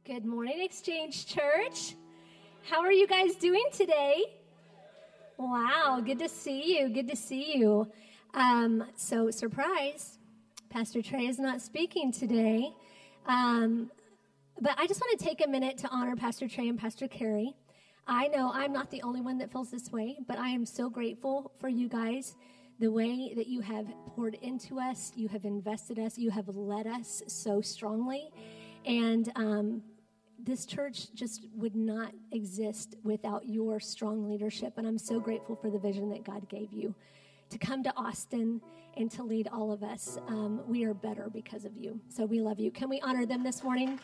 Good morning, Exchange Church. How are you guys doing today? Wow, good to see you. Good to see you. So, surprise, Pastor Trey is not speaking today. But I just want to take a minute to honor Pastor Trey and Pastor Carrie. I know I'm not the only one that feels this way, but I am so grateful for you guys, the way that you have poured into us, you have invested us, you have led us so strongly. And this church just would not exist without your strong leadership. And I'm so grateful for the vision that God gave you to come to Austin and to lead all of us. We are better because of you. So we love you. Can we honor them this morning?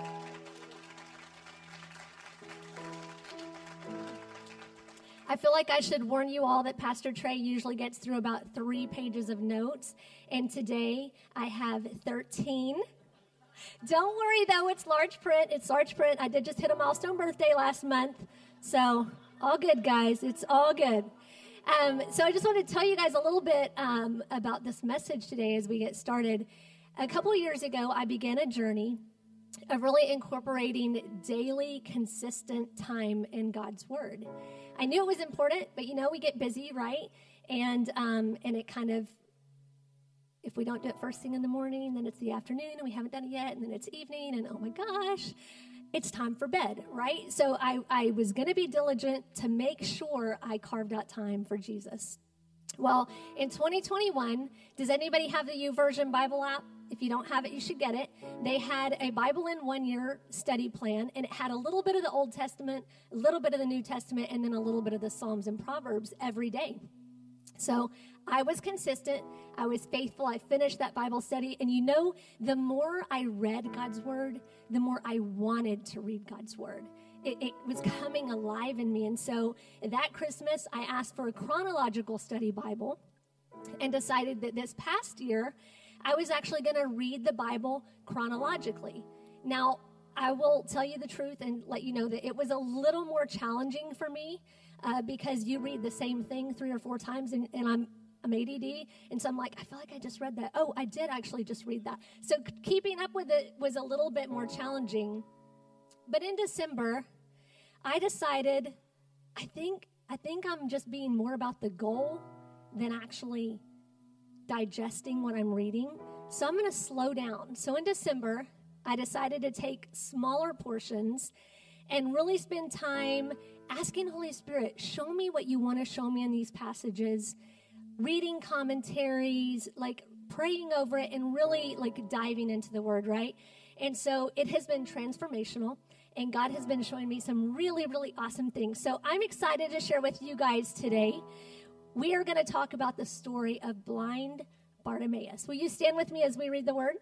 I feel like I should warn you all that Pastor Trey usually gets through about 3 pages of notes. And today I have 13. Don't worry, though. It's large print. It's large print. I did just hit a milestone birthday last month. So all good, guys. It's all good. So I just want to tell you guys a little bit about this message today as we get started. A couple of years ago, I began a journey of really incorporating daily, consistent time in God's Word. I knew it was important, but, we get busy, right? And it kind of, if we don't do it first thing in the morning, then it's the afternoon, and we haven't done it yet, and then it's evening, and oh my gosh, it's time for bed, right? So I was going to be diligent to make sure I carved out time for Jesus. Well, in 2021, does anybody have the YouVersion Bible app? If you don't have it, you should get it. They had a Bible in 1 year study plan, and it had a little bit of the Old Testament, a little bit of the New Testament, and then a little bit of the Psalms and Proverbs every day. So I was consistent. I was faithful. I finished that Bible study. And the more I read God's Word, the more I wanted to read God's Word. It was coming alive in me. And so that Christmas, I asked for a chronological study Bible and decided that this past year, I was actually going to read the Bible chronologically. Now, I will tell you the truth and let you know that it was a little more challenging for me because you read the same thing 3 or 4 times, and I'm ADD, and so I'm like, I feel like I just read that. Oh, I did actually just read that. So keeping up with it was a little bit more challenging. But in December, I decided, I think I'm just being more about the goal than actually digesting what I'm reading. So I'm going to slow down. So in December, I decided to take smaller portions and really spend time asking Holy Spirit, show me what you want to show me in these passages, reading commentaries, like praying over it, and really like diving into the Word, right? And so it has been transformational, and God has been showing me some really, really awesome things. So I'm excited to share with you guys today. We are going to talk about the story of blind Bartimaeus. Will you stand with me as we read the Word?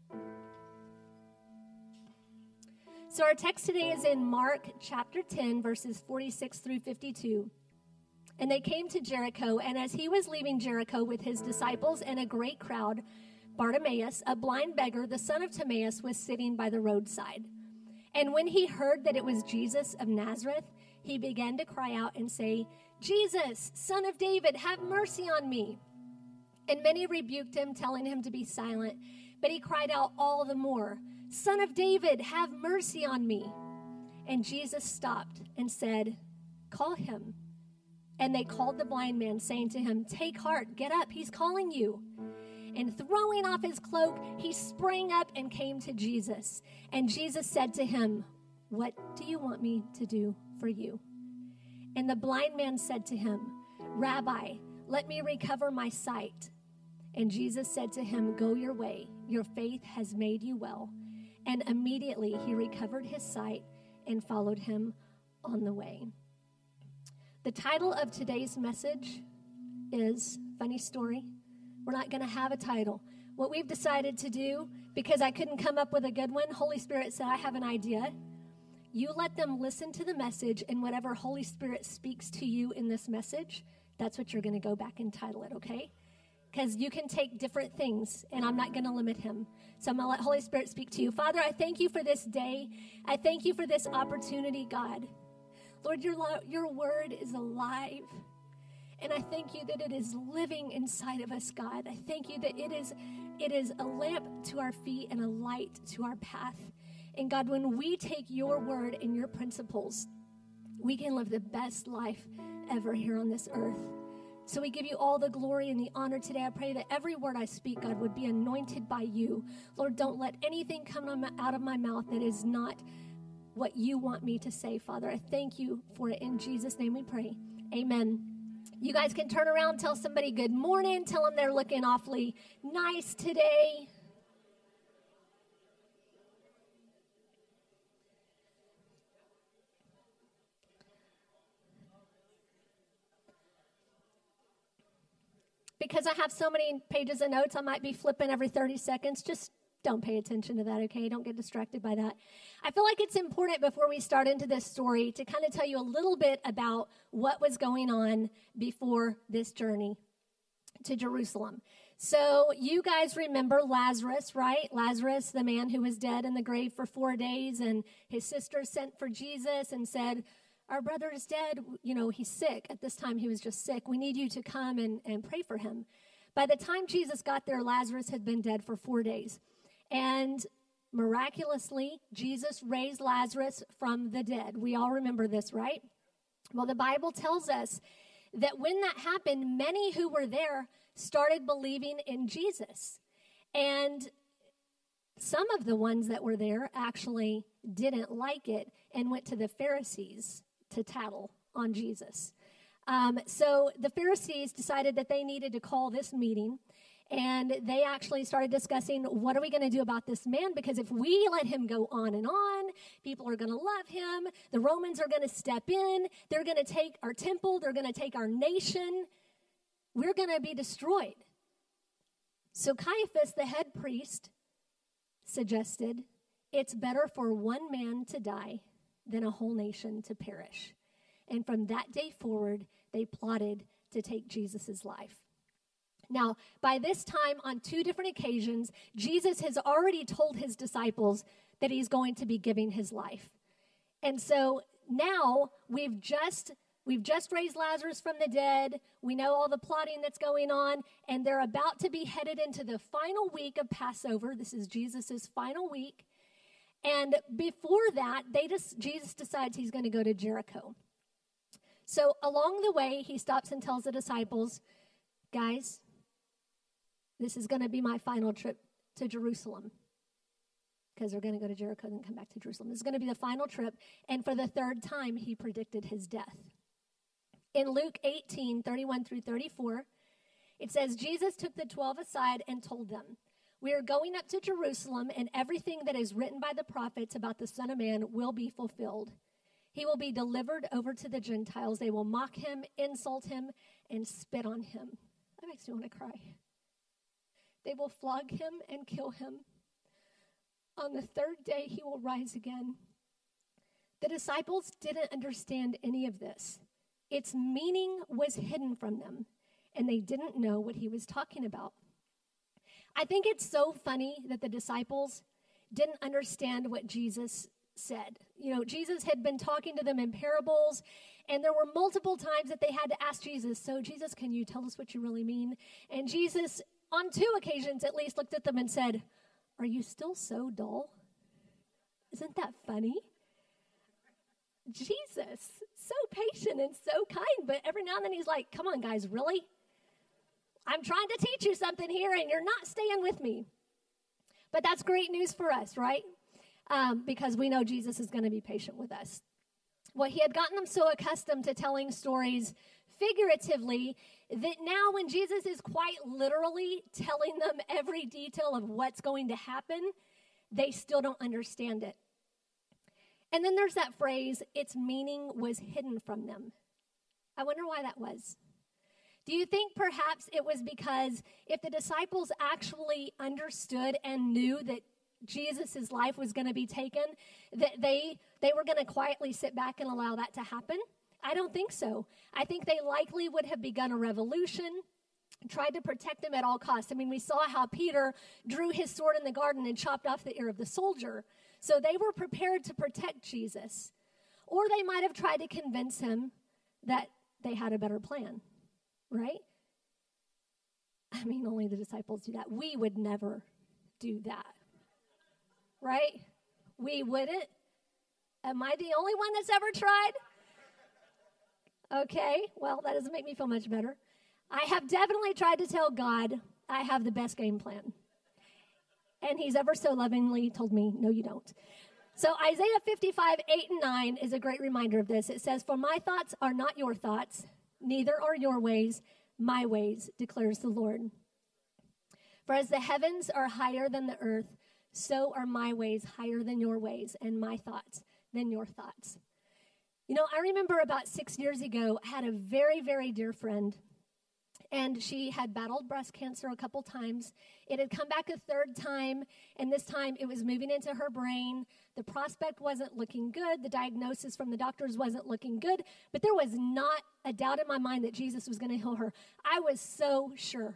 So our text today is in Mark chapter 10, verses 46 through 52. And they came to Jericho, and as he was leaving Jericho with his disciples and a great crowd, Bartimaeus, a blind beggar, the son of Timaeus, was sitting by the roadside. And when he heard that it was Jesus of Nazareth, he began to cry out and say, Jesus, Son of David, have mercy on me. And many rebuked him, telling him to be silent. But he cried out all the more, Son of David, have mercy on me. And Jesus stopped and said, call him. And they called the blind man, saying to him, take heart, get up, he's calling you. And throwing off his cloak, he sprang up and came to Jesus. And Jesus said to him, what do you want me to do for you? And the blind man said to him, Rabbi, let me recover my sight. And Jesus said to him, go your way, your faith has made you well. And immediately he recovered his sight and followed him on the way. The title of today's message is, funny story, we're not going to have a title. What we've decided to do, because I couldn't come up with a good one, Holy Spirit said, I have an idea. You let them listen to the message, and whatever Holy Spirit speaks to you in this message, that's what you're going to go back and title it, okay? Because you can take different things, and I'm not going to limit him. So I'm going to let Holy Spirit speak to you. Father, I thank you for this day. I thank you for this opportunity, God. Lord, your word is alive. And I thank you that it is living inside of us, God. I thank you that it is a lamp to our feet and a light to our path. And God, when we take your word and your principles, we can live the best life ever here on this earth. So we give you all the glory and the honor today. I pray that every word I speak, God, would be anointed by you. Lord, don't let anything come out of my mouth that is not what you want me to say, Father. I thank you for it. In Jesus' name we pray. Amen. You guys can turn around, tell somebody good morning, tell them they're looking awfully nice today. Because I have so many pages of notes, I might be flipping every 30 seconds. Just don't pay attention to that, okay? Don't get distracted by that. I feel like it's important before we start into this story to kind of tell you a little bit about what was going on before this journey to Jerusalem. So you guys remember Lazarus, right? Lazarus, the man who was dead in the grave for 4 days, and his sisters sent for Jesus and said, our brother is dead. You know, he's sick. At this time, he was just sick. We need you to come and pray for him. By the time Jesus got there, Lazarus had been dead for 4 days. And miraculously, Jesus raised Lazarus from the dead. We all remember this, right? Well, the Bible tells us that when that happened, many who were there started believing in Jesus. And some of the ones that were there actually didn't like it and went to the Pharisees to tattle on Jesus. So the Pharisees decided that they needed to call this meeting, and they actually started discussing, what are we going to do about this man? Because if we let him go on and on, people are going to love him. The Romans are going to step in. They're going to take our temple. They're going to take our nation. We're going to be destroyed. So Caiaphas, the head priest, suggested it's better for one man to die than a whole nation to perish. And from that day forward, they plotted to take Jesus' life. Now, by this time, on 2 different occasions, Jesus has already told his disciples that he's going to be giving his life. And so now we've just raised Lazarus from the dead. We know all the plotting that's going on, and they're about to be headed into the final week of Passover. This is Jesus' final week. And before that, Jesus decides he's going to go to Jericho. So along the way, he stops and tells the disciples, guys, this is going to be my final trip to Jerusalem. Because they're going to go to Jericho and come back to Jerusalem. This is going to be the final trip. And for the 3rd time, he predicted his death. In Luke 18:31 through 34, it says, Jesus took the 12 aside and told them, we are going up to Jerusalem, and everything that is written by the prophets about the Son of Man will be fulfilled. He will be delivered over to the Gentiles. They will mock him, insult him, and spit on him. That makes me want to cry. They will flog him and kill him. On the 3rd day, he will rise again. The disciples didn't understand any of this. Its meaning was hidden from them, and they didn't know what he was talking about. I think it's so funny that the disciples didn't understand what Jesus said. You know, Jesus had been talking to them in parables, and there were multiple times that they had to ask Jesus, so Jesus, can you tell us what you really mean? And Jesus, on 2 occasions at least, looked at them and said, are you still so dull? Isn't that funny? Jesus, so patient and so kind, but every now and then he's like, come on guys, really? I'm trying to teach you something here and you're not staying with me. But that's great news for us, right? Because we know Jesus is going to be patient with us. Well, he had gotten them so accustomed to telling stories figuratively that now when Jesus is quite literally telling them every detail of what's going to happen, they still don't understand it. And then there's that phrase, its meaning was hidden from them. I wonder why that was. Do you think perhaps it was because if the disciples actually understood and knew that Jesus' life was going to be taken, that they were going to quietly sit back and allow that to happen? I don't think so. I think they likely would have begun a revolution, tried to protect him at all costs. I mean, we saw how Peter drew his sword in the garden and chopped off the ear of the soldier. So they were prepared to protect Jesus. Or they might have tried to convince him that they had a better plan, right? I mean, only the disciples do that. We would never do that, right? We wouldn't. Am I the only one that's ever tried? Okay, well, that doesn't make me feel much better. I have definitely tried to tell God I have the best game plan. And he's ever so lovingly told me, no, you don't. So Isaiah 55, 8 and 9 is a great reminder of this. It says, for my thoughts are not your thoughts, neither are your ways my ways, declares the Lord. For as the heavens are higher than the earth, so are my ways higher than your ways, and my thoughts than your thoughts. You know, I remember about 6 years ago, I had a very, very dear friend, and she had battled breast cancer a couple times. It had come back a third time, and this time it was moving into her brain. The prospect wasn't looking good. The diagnosis from the doctors wasn't looking good, but there was not a doubt in my mind that Jesus was going to heal her. I was so sure.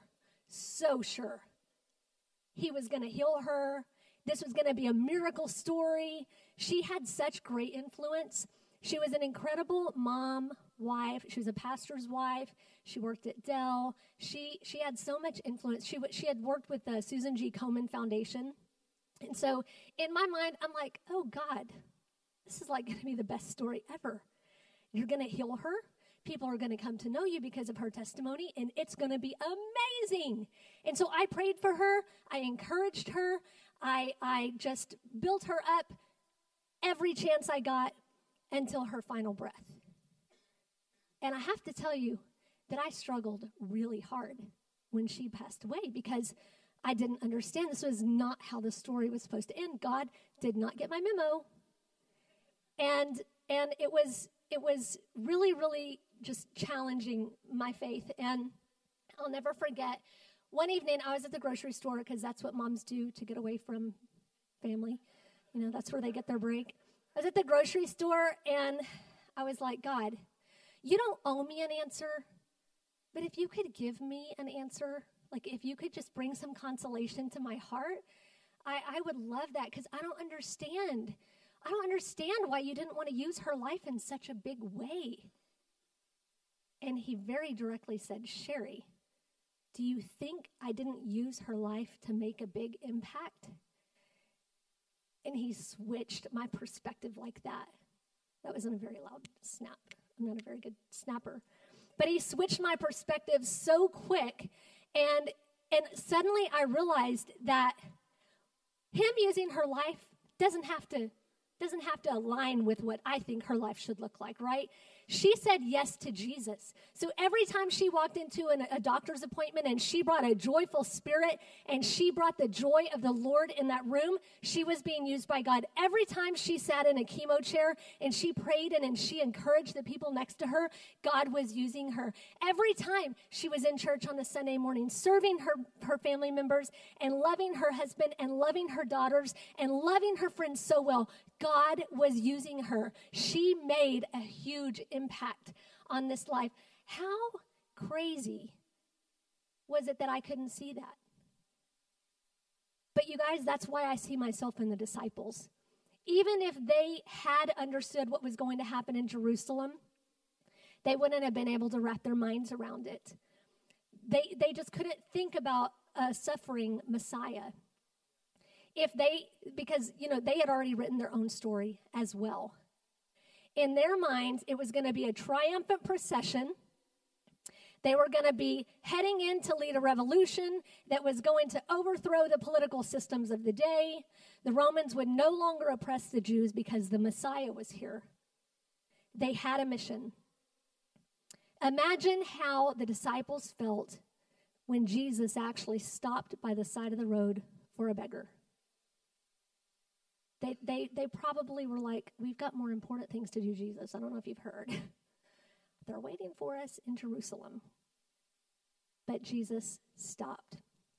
He was going to heal her. This was going to be a miracle story. She had such great influence. She was an incredible mom, wife. She was a pastor's wife. She worked at Dell. She had so much influence. She had worked with the Susan G. Komen Foundation. And so in my mind, I'm like, oh, God, this is like going to be the best story ever. You're going to heal her. People are going to come to know you because of her testimony, and it's going to be amazing. And so I prayed for her. I encouraged her. I just built her up every chance I got until her final breath. And I have to tell you that I struggled really hard when she passed away because I didn't understand. This was not how the story was supposed to end. God did not get my memo. And it was really, really just challenging my faith. And I'll never forget, one evening I was at the grocery store because that's what moms do to get away from family. You know, that's where they get their break. I was at the grocery store and I was like, God, you don't owe me an answer, but if you could give me an answer, like if you could just bring some consolation to my heart, I would love that because I don't understand. I don't understand why you didn't want to use her life in such a big way. And he very directly said, Sherry, do you think I didn't use her life to make a big impact? And he switched my perspective like that. That wasn't a very loud snap. I'm not a very good snapper. But he switched my perspective so quick, and suddenly I realized that him using her life doesn't have to align with what I think her life should look like, right? She said yes to Jesus. So every time she walked into a doctor's appointment and she brought a joyful spirit and she brought the joy of the Lord in that room, she was being used by God. Every time she sat in a chemo chair and she prayed and she encouraged the people next to her, God was using her. Every time she was in church on a Sunday morning, serving her family members and loving her husband and loving her daughters and loving her friends so well, God was using her. She made a huge impact on this life. How crazy was it that I couldn't see that? But you guys, that's why I see myself in the disciples. Even if they had understood what was going to happen in Jerusalem, they wouldn't have been able to wrap their minds around it. They just couldn't think about a suffering Messiah. Because they had already written their own story as well. In their minds, it was going to be a triumphant procession. They were going to be heading in to lead a revolution that was going to overthrow the political systems of the day. The Romans would no longer oppress the Jews because the Messiah was here. They had a mission. Imagine how the disciples felt when Jesus actually stopped by the side of the road for a beggar. They probably were like, we've got more important things to do, Jesus. I don't know if you've heard. They're waiting for us in Jerusalem. But Jesus stopped.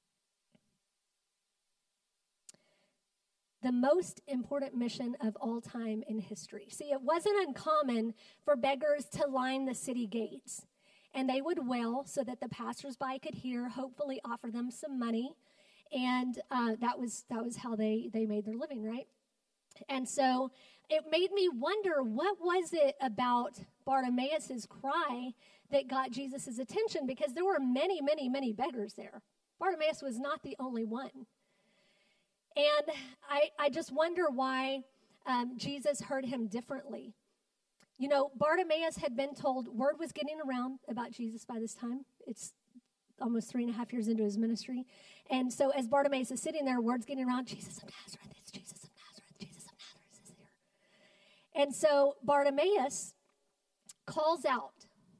The most important mission of all time in history. See, it wasn't uncommon for beggars to line the city gates. And they would wail so that the passersby could hear, hopefully offer them some money. And that was how they made their living, right? And so it made me wonder, what was it about Bartimaeus' cry that got Jesus' attention? Because there were many, many, many beggars there. Bartimaeus was not the only one. And I just wonder why Jesus heard him differently. You know, Bartimaeus had been told, word was getting around about Jesus by this time. It's almost 3.5 years into his ministry. And so as Bartimaeus is sitting there, word's getting around, Jesus of Nazareth, it's Jesus of Nazareth, Jesus of Nazareth is here. And so Bartimaeus calls out.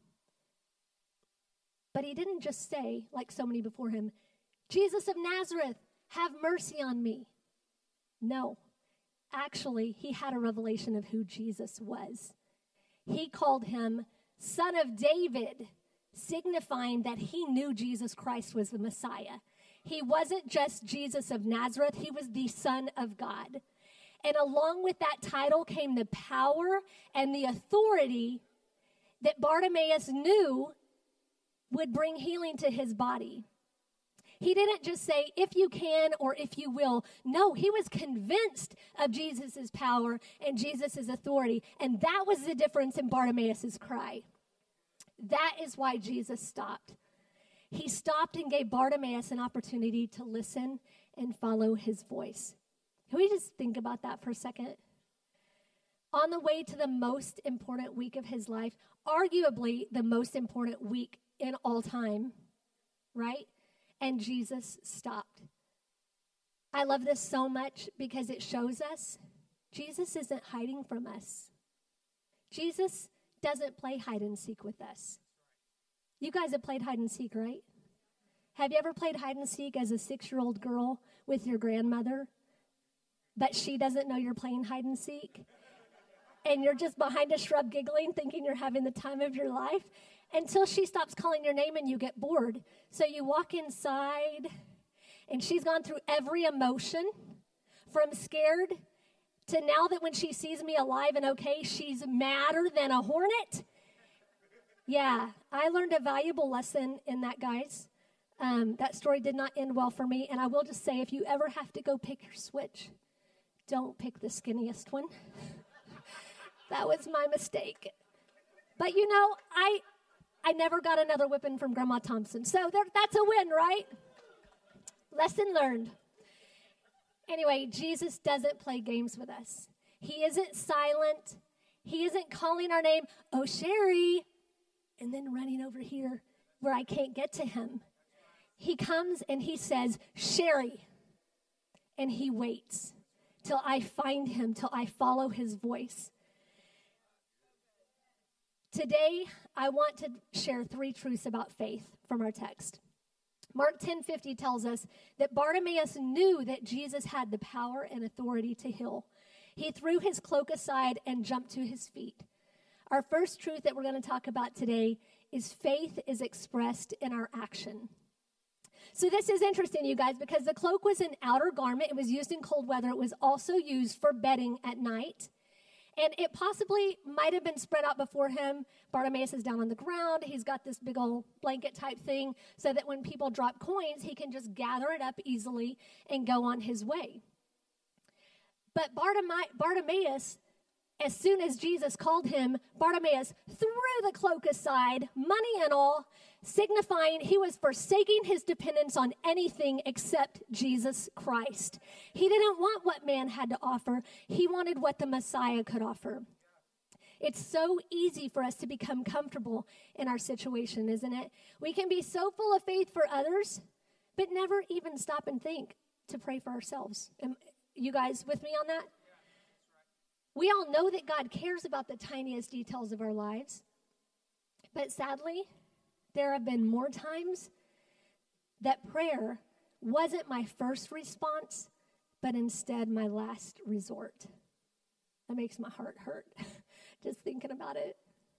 But he didn't just say, like so many before him, Jesus of Nazareth, have mercy on me. No, actually, he had a revelation of who Jesus was. He called him Son of David, signifying that he knew Jesus Christ was the Messiah. He wasn't just Jesus of Nazareth, he was the Son of God. And along with that title came the power and the authority that Bartimaeus knew would bring healing to his body. He didn't just say, if you can or if you will. No, he was convinced of Jesus' power and Jesus' authority. And that was the difference in Bartimaeus' cry. That is why Jesus stopped. He stopped and gave Bartimaeus an opportunity to listen and follow his voice. Can we just think about that for a second? On the way to the most important week of his life, arguably the most important week in all time, right? And Jesus stopped. I love this so much because it shows us Jesus isn't hiding from us. Jesus doesn't play hide and seek with us. You guys have played hide and seek, right? Have you ever played hide and seek as a 6-year-old girl with your grandmother, but she doesn't know you're playing hide and seek? And you're just behind a shrub giggling, thinking you're having the time of your life, until she stops calling your name and you get bored. So you walk inside, and she's gone through every emotion, from scared to now that when she sees me alive and okay, she's madder than a hornet. Yeah, I learned a valuable lesson in that, guys. That story did not end well for me, and I will just say, if you ever have to go pick your switch, don't pick the skinniest one. That was my mistake. But you know, I never got another whipping from Grandma Thompson, so that's a win, right? Lesson learned. Anyway, Jesus doesn't play games with us. He isn't silent. He isn't calling our name, oh, Sherry, and then running over here where I can't get to him. He comes and he says, Sherry, and he waits till I find him, till I follow his voice. Today, I want to share 3 truths about faith from our text. Mark 10:50 tells us that Bartimaeus knew that Jesus had the power and authority to heal. He threw his cloak aside and jumped to his feet. Our first truth that we're going to talk about today is faith is expressed in our action. So this is interesting, you guys, because the cloak was an outer garment. It was used in cold weather. It was also used for bedding at night. And it possibly might have been spread out before him. Bartimaeus is down on the ground. He's got this big old blanket type thing so that when people drop coins, he can just gather it up easily and go on his way. But Bartimaeus, as soon as Jesus called him, Bartimaeus threw the cloak aside, money and all, signifying he was forsaking his dependence on anything except Jesus Christ. He didn't want what man had to offer. He wanted what the Messiah could offer. It's so easy for us to become comfortable in our situation, isn't it? We can be so full of faith for others, but never even stop and think to pray for ourselves. Am you guys with me on that? We all know that God cares about the tiniest details of our lives, but sadly, there have been more times that prayer wasn't my first response, but instead my last resort. That makes my heart hurt, just thinking about it.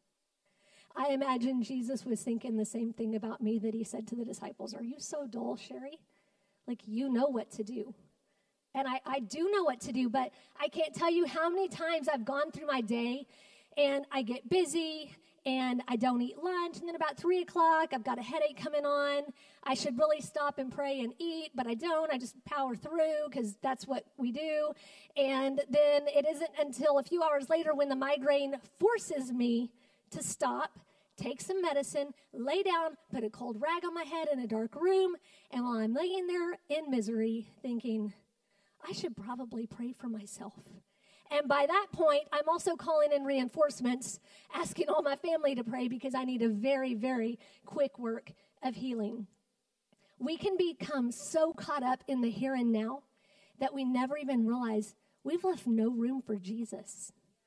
I imagine Jesus was thinking the same thing about me that he said to the disciples, are you so dull, Sherry? Like, you know what to do. And I do know what to do, but I can't tell you how many times I've gone through my day and I get busy and I don't eat lunch. And then about 3 o'clock, I've got a headache coming on. I should really stop and pray and eat, but I don't. I just power through because that's what we do. And then it isn't until a few hours later when the migraine forces me to stop, take some medicine, lay down, put a cold rag on my head in a dark room. And while I'm laying there in misery thinking, I should probably pray for myself. And by that point, I'm also calling in reinforcements, asking all my family to pray because I need a very, very quick work of healing. We can become so caught up in the here and now that we never even realize we've left no room for Jesus.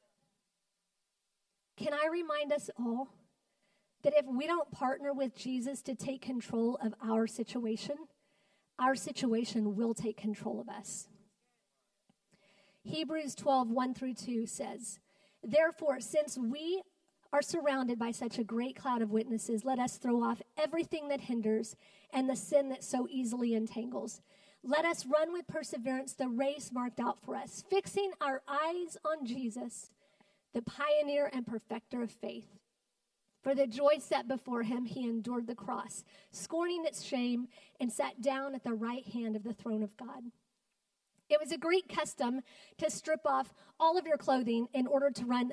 Can I remind us all that if we don't partner with Jesus to take control of our situation will take control of us. Hebrews 12, 1-2 says, "Therefore, since we are surrounded by such a great cloud of witnesses, let us throw off everything that hinders and the sin that so easily entangles. Let us run with perseverance the race marked out for us, fixing our eyes on Jesus, the pioneer and perfecter of faith. For the joy set before him, he endured the cross, scorning its shame, and sat down at the right hand of the throne of God." It was a Greek custom to strip off all of your clothing in order to run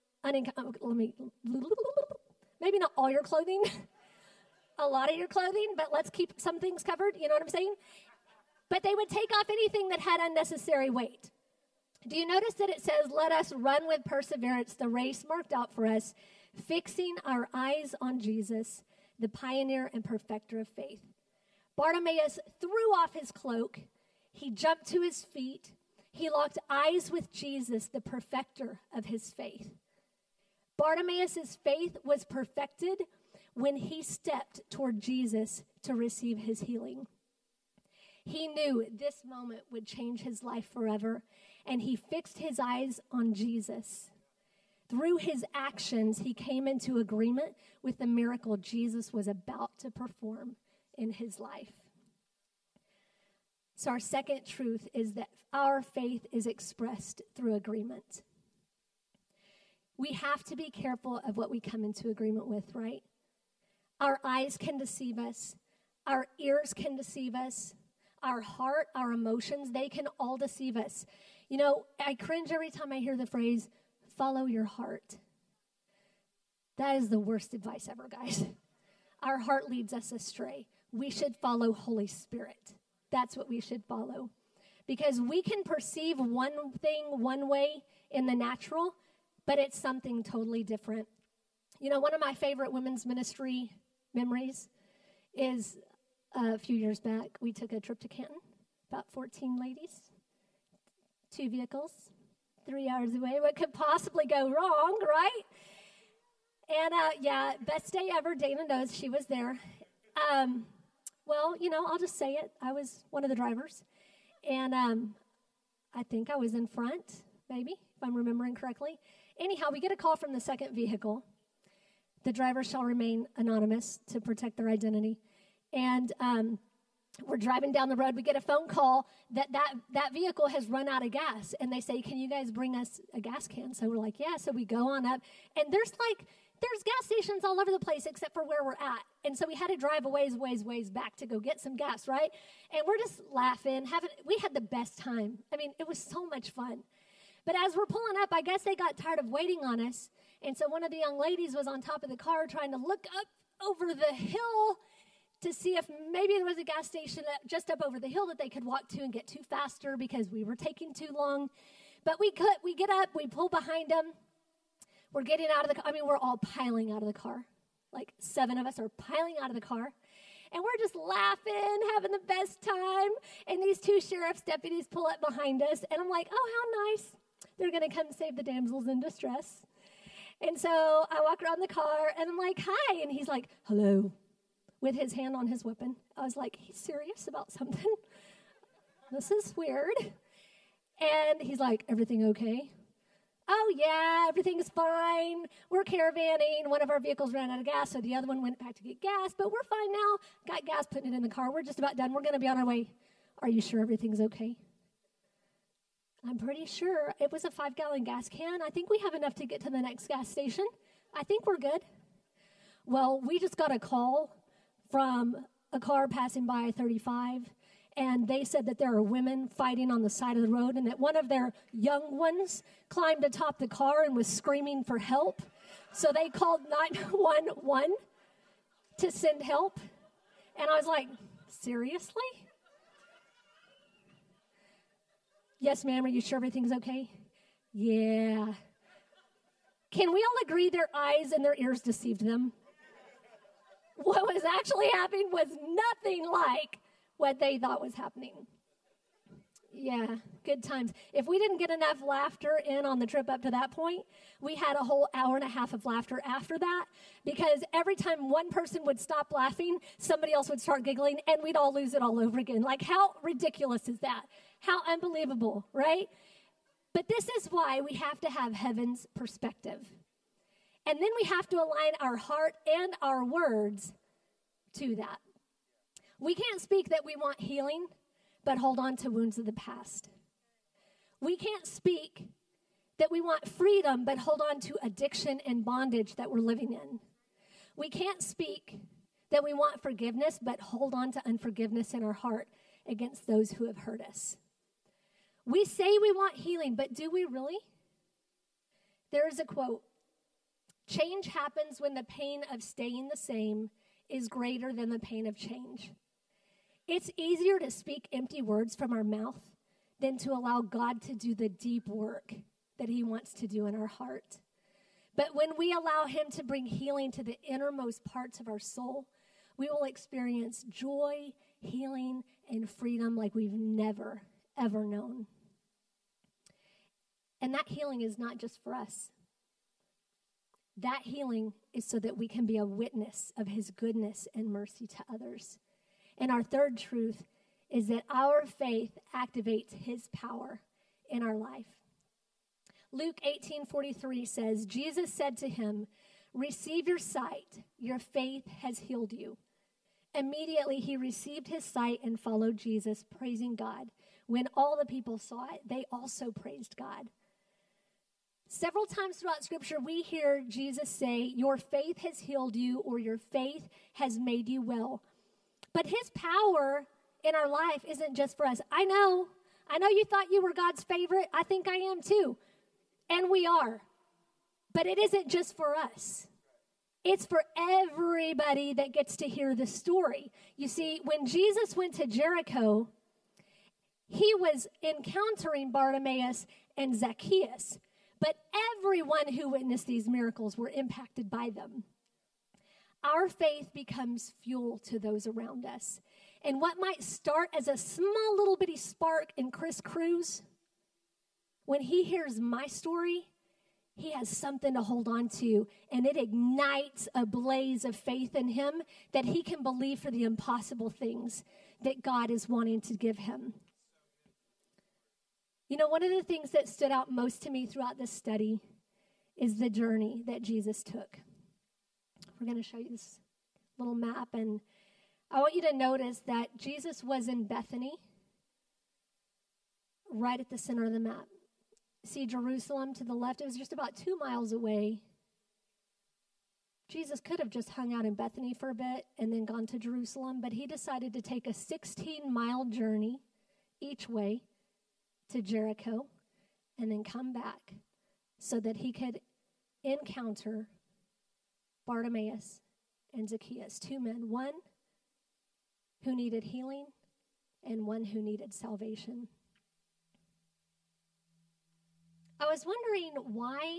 maybe not all your clothing, a lot of your clothing, but let's keep some things covered, you know what I'm saying? But they would take off anything that had unnecessary weight. Do you notice that it says, "Let us run with perseverance the race marked out for us, fixing our eyes on Jesus, the pioneer and perfecter of faith"? Bartimaeus threw off his cloak. He jumped to his feet. He locked eyes with Jesus, the perfecter of his faith. Bartimaeus' faith was perfected when he stepped toward Jesus to receive his healing. He knew this moment would change his life forever, and he fixed his eyes on Jesus. Through his actions, he came into agreement with the miracle Jesus was about to perform in his life. So our second truth is that our faith is expressed through agreement. We have to be careful of what we come into agreement with, right? Our eyes can deceive us. Our ears can deceive us. Our heart, our emotions, they can all deceive us. You know, I cringe every time I hear the phrase, "follow your heart." That is the worst advice ever, guys. Our heart leads us astray. We should follow Holy Spirit. That's what we should follow. Because we can perceive one thing one way in the natural, but it's something totally different. You know, one of my favorite women's ministry memories is a few years back, we took a trip to Canton, about 14 ladies, 2 vehicles, 3 hours away. What could possibly go wrong, right? And best day ever. Dana knows she was there. Well, you know, I'll just say it. I was one of the drivers. And I think I was in front, maybe, if I'm remembering correctly. Anyhow, we get a call from the second vehicle. The driver shall remain anonymous to protect their identity. And we're driving down the road. We get a phone call that vehicle has run out of gas. And they say, "Can you guys bring us a gas can?" So we're like, "Yeah." So we go on up. And there's gas stations all over the place except for where we're at. And so we had to drive a ways back to go get some gas, right? And we're just laughing. We had the best time. I mean, it was so much fun. But as we're pulling up, I guess they got tired of waiting on us. And so one of the young ladies was on top of the car trying to look up over the hill to see if maybe there was a gas station just up over the hill that they could walk to and get to faster because we were taking too long. But we get up, we pull behind them. We're getting out of the car. I mean, we're all piling out of the car. Like 7 of us are piling out of the car. And we're just laughing, having the best time. And these 2 sheriff's deputies pull up behind us. And I'm like, "Oh, how nice. They're going to come save the damsels in distress." And so I walk around the car, and I'm like, "Hi." And he's like, "Hello," with his hand on his weapon. I was like, he's serious about something. This is weird. And he's like, "Everything okay?" "Oh, yeah, everything's fine. We're caravanning. One of our vehicles ran out of gas, so the other one went back to get gas, but we're fine now. Got gas, putting it in the car. We're just about done. We're going to be on our way." "Are you sure everything's okay?" "I'm pretty sure. It was a 5-gallon gas can. I think we have enough to get to the next gas station. I think we're good." Well, we just got a call from a car passing by 35, and they said that there are women fighting on the side of the road and that one of their young ones climbed atop the car and was screaming for help. So they called 911 to send help. And I was like, "Seriously?" "Yes, ma'am. Are you sure everything's okay?" Yeah. Can we all agree their eyes and their ears deceived them? What was actually happening was nothing like what they thought was happening. Yeah, good times. If we didn't get enough laughter in on the trip up to that point, we had a whole hour and a half of laughter after that, because every time one person would stop laughing, somebody else would start giggling, and we'd all lose it all over again. Like, how ridiculous is that? How unbelievable, right? But this is why we have to have heaven's perspective. And then we have to align our heart and our words to that. We can't speak that we want healing, but hold on to wounds of the past. We can't speak that we want freedom, but hold on to addiction and bondage that we're living in. We can't speak that we want forgiveness, but hold on to unforgiveness in our heart against those who have hurt us. We say we want healing, but do we really? There is a quote: change happens when the pain of staying the same is greater than the pain of change. It's easier to speak empty words from our mouth than to allow God to do the deep work that he wants to do in our heart. But when we allow him to bring healing to the innermost parts of our soul, we will experience joy, healing, and freedom like we've never, ever known. And that healing is not just for us. That healing is so that we can be a witness of his goodness and mercy to others. And our third truth is that our faith activates his power in our life. Luke 18:43 says, Jesus said to him, receive your sight, your faith has healed you. Immediately he received his sight and followed Jesus, praising God. When all the people saw it, they also praised God. Several times throughout Scripture, we hear Jesus say, your faith has healed you, or your faith has made you well. But his power in our life isn't just for us. I know you thought you were God's favorite. I think I am too. And we are. But it isn't just for us. It's for everybody that gets to hear the story. You see, when Jesus went to Jericho, he was encountering Bartimaeus and Zacchaeus. But everyone who witnessed these miracles were impacted by them. Our faith becomes fuel to those around us. And what might start as a small little bitty spark in Chris Cruz, when he hears my story, he has something to hold on to, and it ignites a blaze of faith in him that he can believe for the impossible things that God is wanting to give him. You know, one of the things that stood out most to me throughout this study is the journey that Jesus took. We're going to show you this little map, and I want you to notice that Jesus was in Bethany, right at the center of the map. See Jerusalem to the left? It was just about 2 miles away. Jesus could have just hung out in Bethany for a bit and then gone to Jerusalem, but he decided to take a 16-mile journey each way to Jericho and then come back so that he could encounter Bartimaeus and Zacchaeus, 2 men, one who needed healing and one who needed salvation. I was wondering why,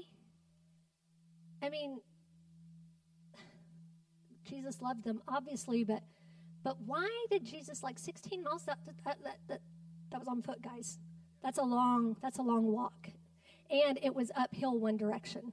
Jesus loved them, obviously, but why did Jesus, 16 miles, that was on foot, guys. That's a long walk. And it was uphill one direction.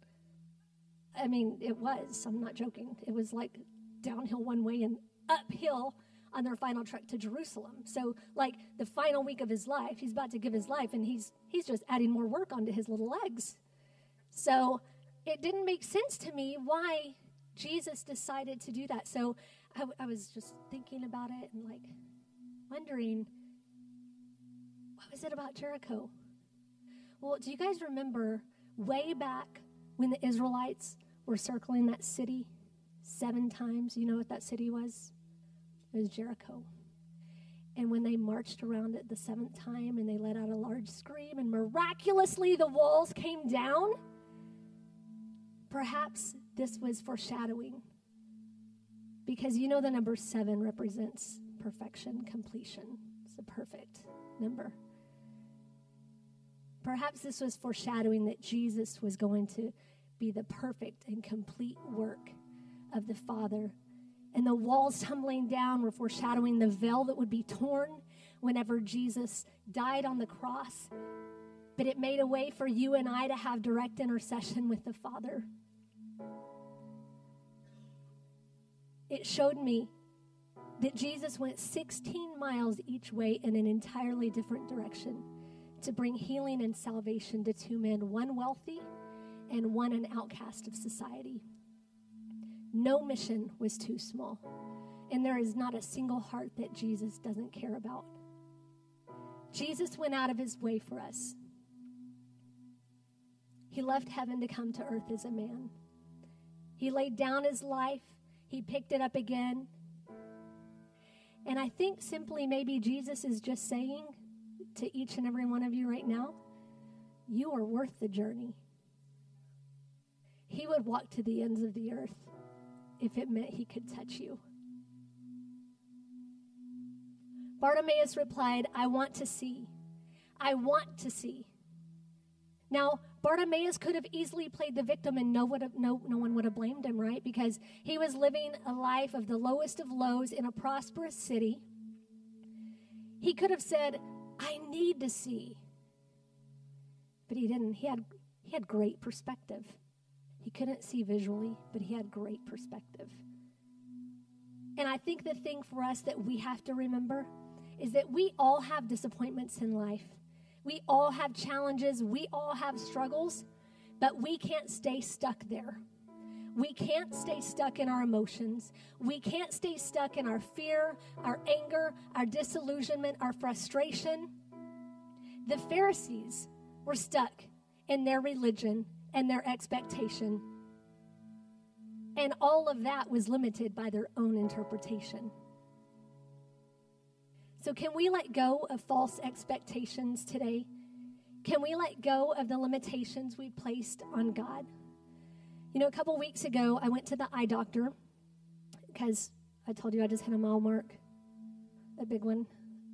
It was. I'm not joking. It was downhill one way and uphill on their final trek to Jerusalem. So, the final week of his life, he's about to give his life, and he's just adding more work onto his little legs. So, it didn't make sense to me why Jesus decided to do that. So, I was just thinking about it and, wondering, what was it about Jericho? Well, do you guys remember way back when the Israelites were circling that city 7 times? You know what that city was? It was Jericho. And when they marched around it the 7th time and they let out a large scream and miraculously the walls came down, perhaps this was foreshadowing. Because you know the number 7 represents perfection, completion. It's a perfect number. perhaps this was foreshadowing that Jesus was going to be the perfect and complete work of the Father. And the walls tumbling down were foreshadowing the veil that would be torn whenever Jesus died on the cross. But it made a way for you and I to have direct intercession with the Father. It showed me that Jesus went 16 miles each way in an entirely different direction to bring healing and salvation to two men, one wealthy and one an outcast of society. No mission was too small, and there is not a single heart that Jesus doesn't care about. Jesus went out of his way for us. He left heaven to come to earth as a man. He laid down his life. He picked it up again. And I think simply maybe Jesus is just saying to each and every one of you right now, you are worth the journey. He would walk to the ends of the earth if it meant he could touch you. Bartimaeus replied, I want to see. I want to see. Now, Bartimaeus could have easily played the victim and no one would have blamed him, right? Because he was living a life of the lowest of lows in a prosperous city. He could have said, I need to see. But he didn't. He had great perspective. He couldn't see visually, but he had great perspective. And I think the thing for us that we have to remember is that we all have disappointments in life. We all have challenges. We all have struggles, but we can't stay stuck there. We can't stay stuck in our emotions. We can't stay stuck in our fear, our anger, our disillusionment, our frustration. The Pharisees were stuck in their religion and their expectation. And all of that was limited by their own interpretation. So can we let go of false expectations today? Can we let go of the limitations we placed on God? You know, a couple weeks ago, I went to the eye doctor because I told you I just hit a mile mark, a big one.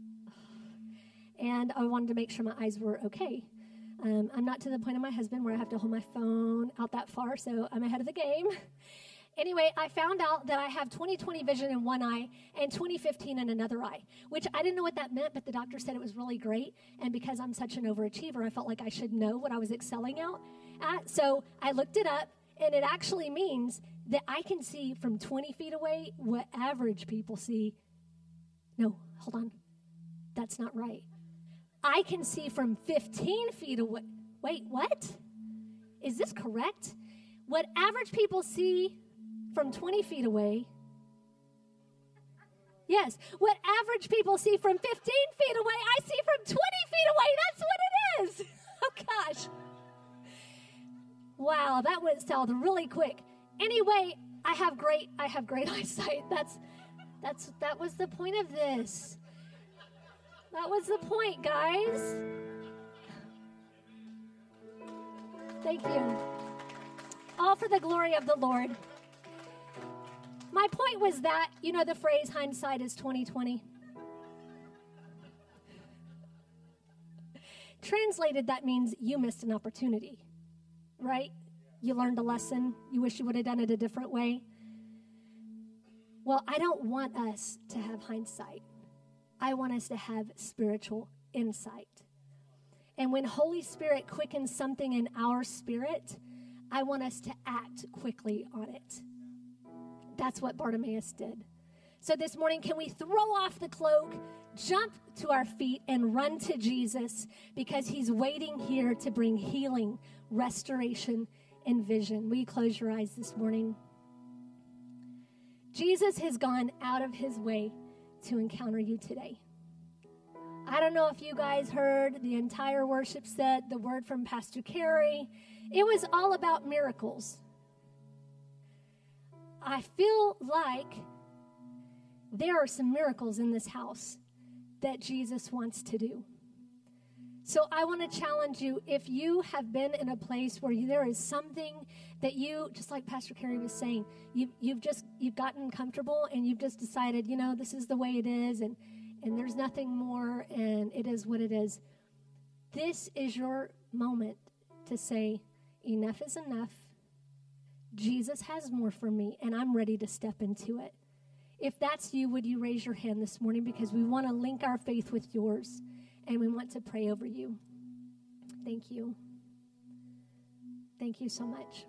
And I wanted to make sure my eyes were okay. I'm not to the point of my husband where I have to hold my phone out that far, so I'm ahead of the game. Anyway, I found out that I have 20/20 vision in one eye and 20/15 in another eye, which I didn't know what that meant, but the doctor said it was really great. And because I'm such an overachiever, I felt like I should know what I was excelling at. So I looked it up, and it actually means that I can see from 20 feet away what average people see. No, hold on. That's not right. I can see from 15 feet away. Wait, what? Is this correct? What average people see from 20 feet away. Yes, what average people see from 15 feet away, I see from 20 feet away. That's what it is. Oh, gosh. Wow, that went south really quick. Anyway, I have great eyesight. That was the point of this. That was the point, guys. Thank you. All for the glory of the Lord. My point was that, you know the phrase, hindsight is 20/20? Translated, that means you missed an opportunity, right? You learned a lesson. You wish you would have done it a different way. Well, I don't want us to have hindsight. I want us to have spiritual insight. And when Holy Spirit quickens something in our spirit, I want us to act quickly on it. That's what Bartimaeus did. So this morning, can we throw off the cloak, jump to our feet, and run to Jesus because he's waiting here to bring healing, restoration, and vision. Will you close your eyes this morning? Jesus has gone out of his way to encounter you today. I don't know if you guys heard the entire worship set, the word from Pastor Carrie. It was all about miracles. I feel like there are some miracles in this house that Jesus wants to do. So I want to challenge you, if you have been in a place where there is something that you, just like Pastor Carrie was saying, you've gotten comfortable and you've just decided, you know, this is the way it is and there's nothing more and it is what it is. This is your moment to say, enough is enough. Jesus has more for me, and I'm ready to step into it. If that's you, would you raise your hand this morning? Because we want to link our faith with yours, and we want to pray over you. Thank you. Thank you so much.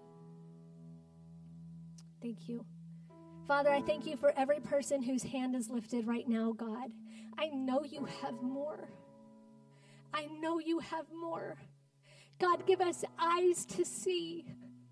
Thank you. Father, I thank you for every person whose hand is lifted right now, God. I know you have more. I know you have more. God, give us eyes to see.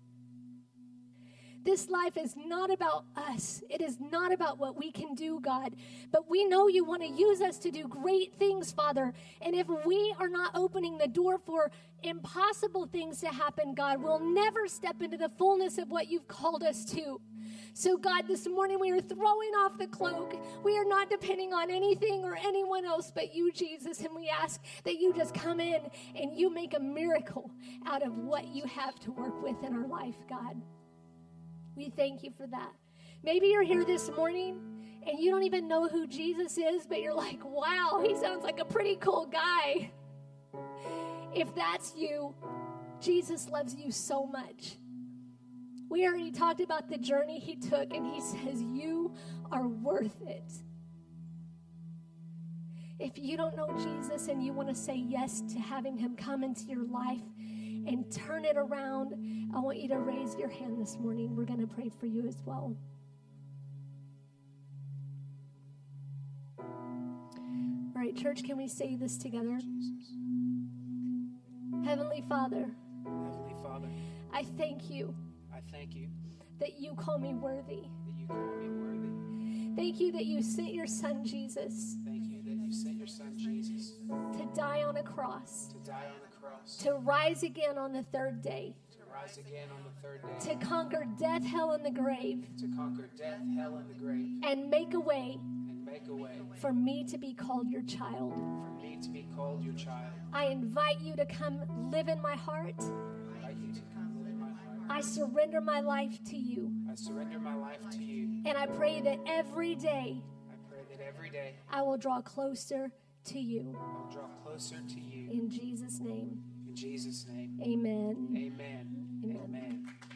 This life is not about us. It is not about what we can do, God. But we know you want to use us to do great things, Father. And if we are not opening the door for impossible things to happen, God, we'll never step into the fullness of what you've called us to. So, God, this morning we are throwing off the cloak. We are not depending on anything or anyone else but you, Jesus. And we ask that you just come in and you make a miracle out of what you have to work with in our life, God. We thank you for that. Maybe you're here this morning and you don't even know who Jesus is, but you're like, wow, he sounds like a pretty cool guy. If that's you, Jesus loves you so much. We already talked about the journey he took, and he says, you are worth it. If you don't know Jesus and you want to say yes to having him come into your life and turn it around, I want you to raise your hand this morning. We're going to pray for you as well. All right, church, can we say this together? Jesus. Heavenly Father, I thank you that you call me worthy. Thank you that you sent your son Jesus to die on a cross, to rise again on the third day, to conquer death, hell, and the grave, and make a way for me to be called your child. I invite you to come live in my heart. I surrender my life to you. And I pray that every day I will draw closer to you. In Jesus' name. In Jesus' name. Amen. Amen. Amen. Amen.